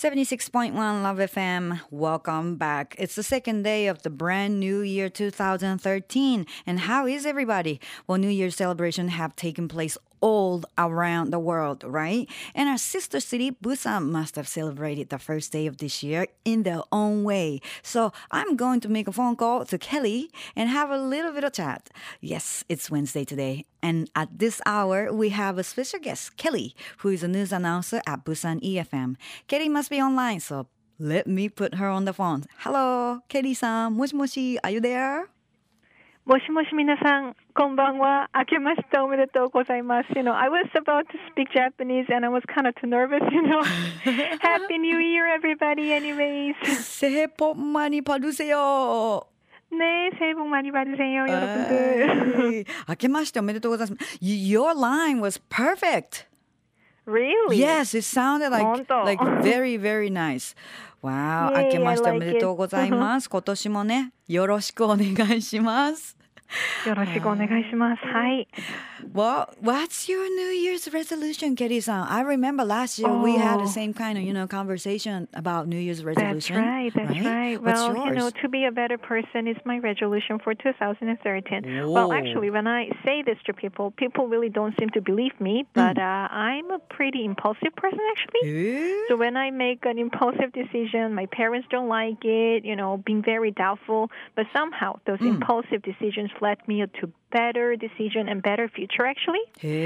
76.1 Love FM. Welcome back. It's the second day of the brand new year 2013. And how is everybody? Well, New Year's celebration have taken place all around the world, right? And our sister city, Busan, must have celebrated the first day of this year in their own way. So I'm going to make a phone call to Kelly and have a little bit of chat. Yes, it's Wednesday today. And at this hour, we have a special guest, Kelly, who is a news announcer at Busan EFM. Kelly must be online, so let me put her on the phone. Hello, Kelly-san. Moshi, are you there? もしもし皆さん、こんばんは。明けましておめでとうございます。I was about to speak Japanese and I was kind of too nervous, Happy New Year, everybody, anyways. 새해 복 많이 받으세요. 네, 새해 복 많이 받으세요, 여러분들. 明けましておめでとうございます. Your line was perfect. Really? Yes, it sounded like very, very nice. Wow, 明けましておめでとうございます。今年もね、よろしくお願いします。 よろしくお願いします。はい。 Well, what's your New Year's resolution, Kelly-san? I remember last year we had the same kind of, conversation about New Year's resolution. That's right. What's Well, yours? To be a better person is my resolution for 2013. Whoa. Well, actually, when I say this to people really don't seem to believe me, but I'm a pretty impulsive person, actually. So when I make an impulsive decision, my parents don't like it, being very doubtful, but somehow those impulsive decisions led me to better decision and better future, actually.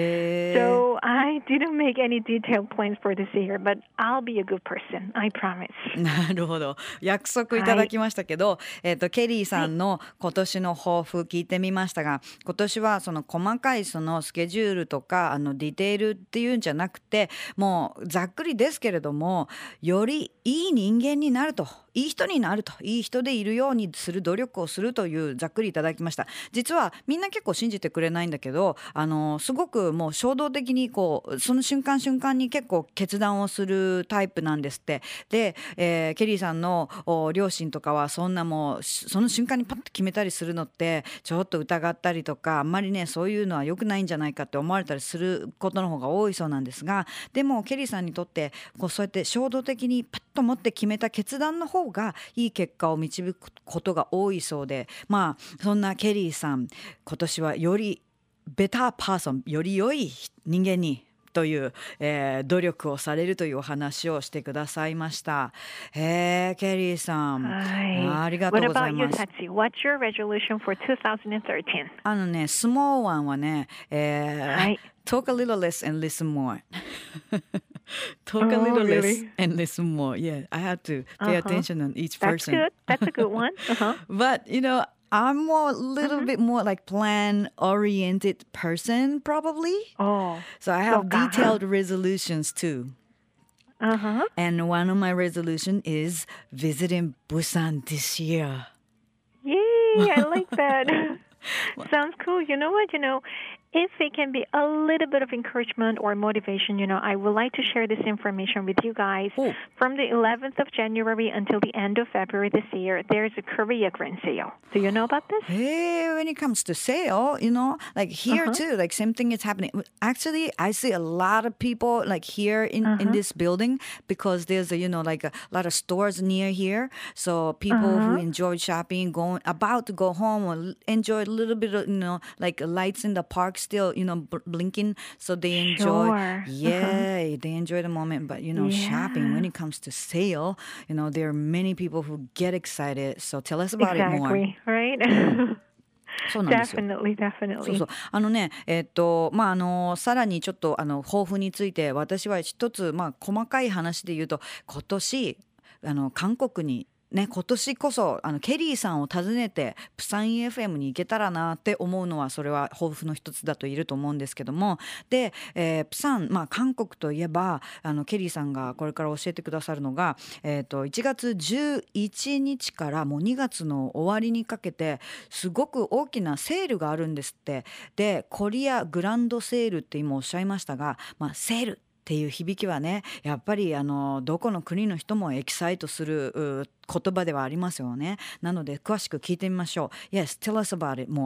So I didn't make any detailed plans for this year, but I'll be a good person. I promise. なるほど。約束いただきましたけど、ケリーさんの今年の抱負聞いてみましたが、今年はその細かいそのスケジュールとかディテールっていうんじゃなくて、もうざっくりですけれども、よりいい人間になると。いい人になると、いい人でいるようにする努力をするというざっくりいただきました。実はみんな結構信じてくれないんだけど、すごくもう衝動的にその瞬間瞬間に結構決断をするタイプなんですって。で、ケリーさんの両親とかはそんなもうその瞬間にパッと決めたりするのってちょっと疑ったりとか、あんまりねそういうのは良くないんじゃないかって思われたりすることの方が多いそうなんですが、でもケリーさんにとってそうやって衝動的にパッと持って決めた決断の方がいい結果を導くことが多いそうで、まあそんなケリーさん、今年はよりベターパーソン、より良い人間にという、努力をされるというお話をしてくださいました。ケリーさん、ありがとうございます。 What about you, Tatsu? What's your resolution for 2013? ね、スモーワンはね、talk a little less and listen more. Talk a little less and listen more. Yeah, I had to pay attention on each person. That's a good one. But, I'm more a little bit more like plan-oriented person, probably. So I have detailed resolutions too. And one of my resolution is visiting Busan this year. Yay, I like that. Sounds cool. You know what? If it can be a little bit of encouragement or motivation, I would like to share this information with you guys. From the 11th of January until the end of February this year, there's a Korea Grand Sale. Do you know about this? Hey, when it comes to sale, like here too, like same thing is happening. Actually, I see a lot of people like here in this building because there's like a lot of stores near here. So people who enjoy shopping, about to go home or enjoy a little bit of, like lights in the park still, blinking. So they enjoy, they enjoy the moment. But, shopping, when it comes to sale, there are many people who get excited. So tell us about it more. Exactly, right? そうなんですよ。 Definitely. さらにちょっと抱負について私は一つ細かい話で言うと、今年韓国にね、今年こそケリーさんを訪ねてプサン EFM に行けたらなって思うのは、それは抱負の一つだと言えると思うんですけども、で、プサン、韓国といえばケリーさんがこれから教えてくださるのが、1月11日からもう2月の終わりにかけてすごく大きなセールがあるんですって。で、コリアグランドセールって今おっしゃいましたが、セールっていう響きはね、やっぱりどこの国の人もエキサイトする言葉ではありますよね。なので詳しく聞いてみましょう。Yes, tell us about it more.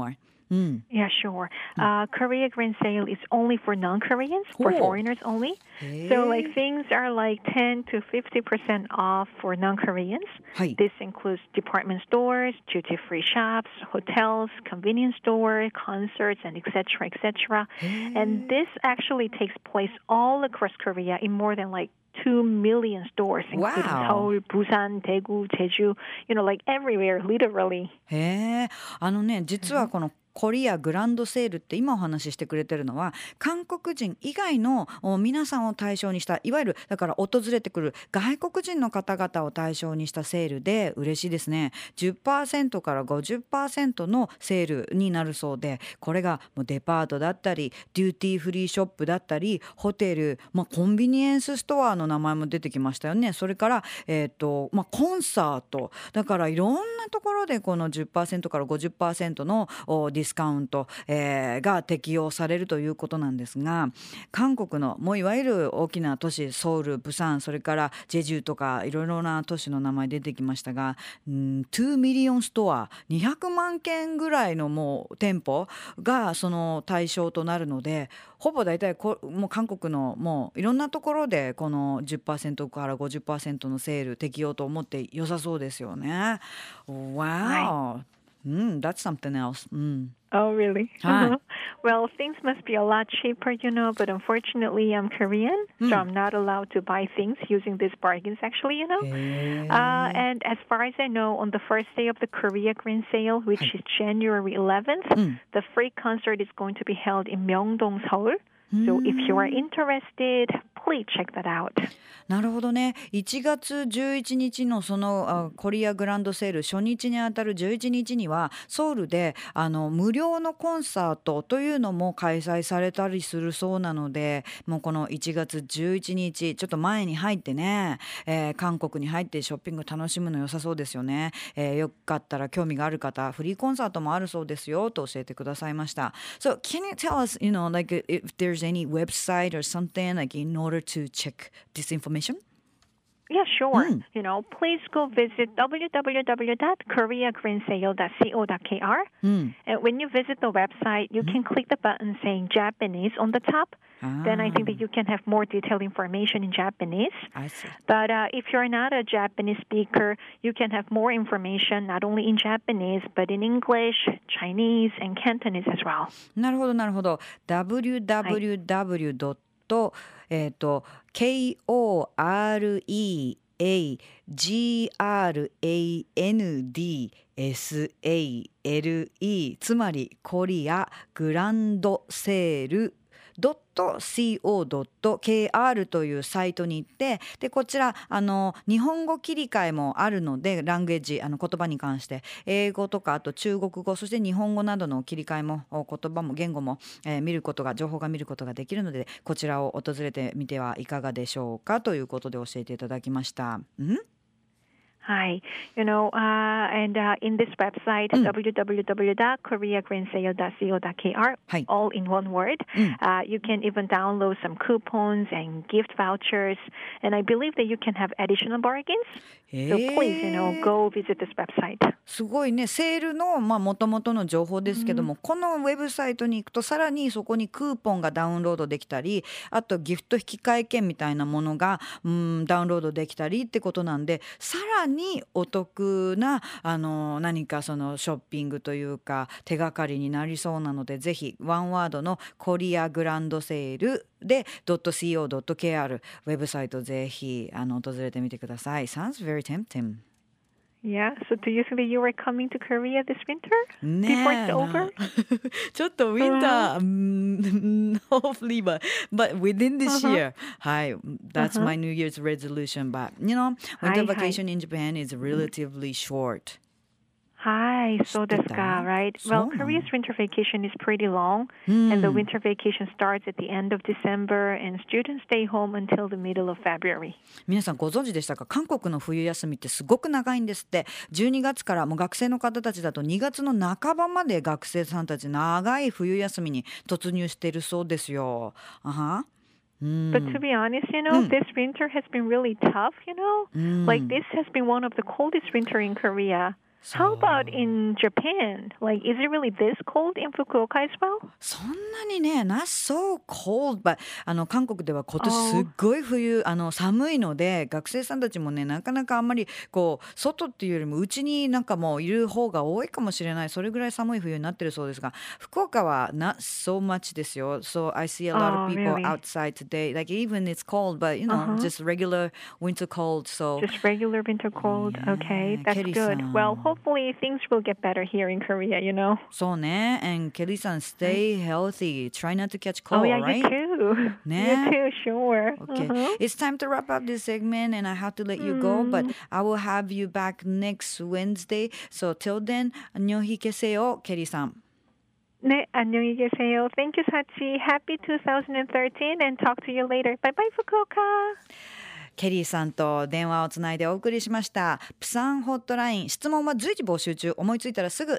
Yeah, sure. Korea Grand Sale is only for non-Koreans, for foreigners only. So like things are like 10 to 50% off for non-Koreans. This includes department stores, duty-free shops, hotels, convenience stores, concerts, and etc., etc. And this actually takes place all across Korea in more than like 2 million stores, including Seoul, Busan, Daegu, Jeju, like everywhere, literally. 実はこのコリアグランドセールって今お話ししてくれてるのは韓国人以外の皆さんを対象にしたいわゆるだから訪れてくる外国人の方々を対象にしたセールで嬉しいですね。 10% から 50% のセールになるそうでこれがもうデパートだったりデューティーフリーショップだったりホテル、コンビニエンスストアの名前も出てきましたよね。それから、コンサートだからいろんなところでこの 10% から 50% のディスカウント、が適用されるということなんですが韓国のもういわゆる大きな都市ソウル、プサンそれからジェジュとかいろいろな都市の名前出てきましたが2ミリオンストア200万件ぐらいのもう店舗がその対象となるのでほぼ大体もう韓国のもういろんなところでこの 10% から 50% のセール適用と思って良さそうですよね。Wow! That's something else. Oh, really? Well, things must be a lot cheaper, but unfortunately, I'm Korean, so I'm not allowed to buy things using these bargains, actually, And as far as I know, on the first day of the Korea Grand Sale, which is January 11th, the free concert is going to be held in Myeongdong, Seoul. So if you are interested, please check that out. なるほどね。1月11日のそのコリアグランドセール初日にあたる11日にはソウルで無料のコンサートというのも開催されたりするそうなのでもうこの1月11日ちょっと前に入ってね、韓国に入ってショッピング楽しむの良さそうですよね。よかったら興味がある方フリーコンサートもあるそうですよと教えてくださいました。So can you tell us, like if there's any website or something like in order to check this information? Yeah, sure. Please go visit www.koreagrandsale.co.kr. And when you visit the website, you can click the button saying Japanese on the top. Then I think that you can have more detailed information in Japanese. I see. But if you're not a Japanese speaker, you can have more information not only in Japanese, but in English, Chinese, and Cantonese as well. なるほどなるほど。www.koreagrandsale.co.krつまりコリアグランドセール.co.kr というサイトに行ってでこちら日本語切り替えもあるのでランゲージ言葉に関して英語とかあと中国語そして日本語などの切り替えも言葉も言語も、情報が見ることができるのでこちらを訪れてみてはいかがでしょうかということで教えていただきました。 Hi. And in this website, www.koreagrandsale.co.kr, all in one word, you can even download some coupons and gift vouchers. And I believe that you can have additional bargains. So please, go visit this website. すごいね。セールの元々の情報ですけども、このウェブサイトに行くとさらにそこにクーポンがダウンロードできたり、あとギフト引換券みたいなものがダウンロードできたりってことなんで、さらにお得な何かそのショッピングというか手がかりになりそうなので、ぜひワンワードのコリアグランドセールで .co.kr ウェブサイトぜひ訪れてみてください。Sounds very tempting. Yeah, so do you think that you are coming to Korea this winter? Before it's over? ちょっとウィンター、hopefully, but within this year. はい、that's my New Year's resolution. But, winter vacation in Japan is relatively short. Hi, so desu ka, right? Well, Korea's winter vacation is pretty long, and the winter vacation starts at the end of December, and students stay home until the middle of February. 皆さんご存知でしたか？韓国の冬休みってすごく長いんですって。12月からもう学生の方たちだと2月の半ばまで学生さんたち長い冬休みに突入しているそうですよ。 But to be honest, this winter has been really tough, Like this has been one of the coldest winter in Korea. How about in Japan? Like, is it really this cold in Fukuoka as well? そんなにね、not so cold, but 韓国では今年すっごい冬、寒いので、学生さんたちもね、なかなかあんまりこう外っていうよりもうちになんかもういる方が多いかもしれない。それぐらい寒い冬になってるそうですが、福岡は not so much ですよ。So I see a lot of people really? outside today. Like even it's cold, but you know, just regular winter cold. So Just regular winter cold. Okay, that's Kelly-san. good. Well, hopefully things will get better here in Korea, you know. そうね。And Kelly-san, stay healthy. Try not to catch cold, Oh yeah, right? you too. Ne? You too, sure. Okay, it's time to wrap up this segment and I have to let you go, but I will have you back next Wednesday. So till then, 안녕히 계세요, Kelly-san. 네, 안녕히 계세요. Thank you, Sachi. Happy 2013 and talk to you later. Bye bye, Fukuoka. ケリーさんと電話をつないでお送りしました。プサンホットライン、質問は随時募集中。思いついたらすぐ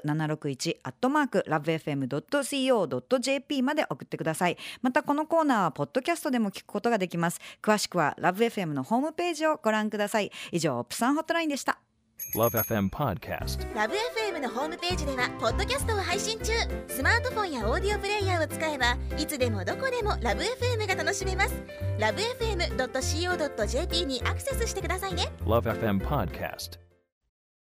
761@lovefm.co.jp まで送ってください。またこのコーナーはポッドキャストでも聞くことができます。詳しくは LoveFM のホームページをご覧ください。以上、プサンホットラインでした。 LoveFM Podcast。 LoveFM のホームページではポッドキャストを配信中。スマートフォンやオーディオプレイヤーを使えばいつでもどこでも LoveFM が楽しめます。LoveFM.co.jp にアクセスしてくださいね。 LoveFM Podcast。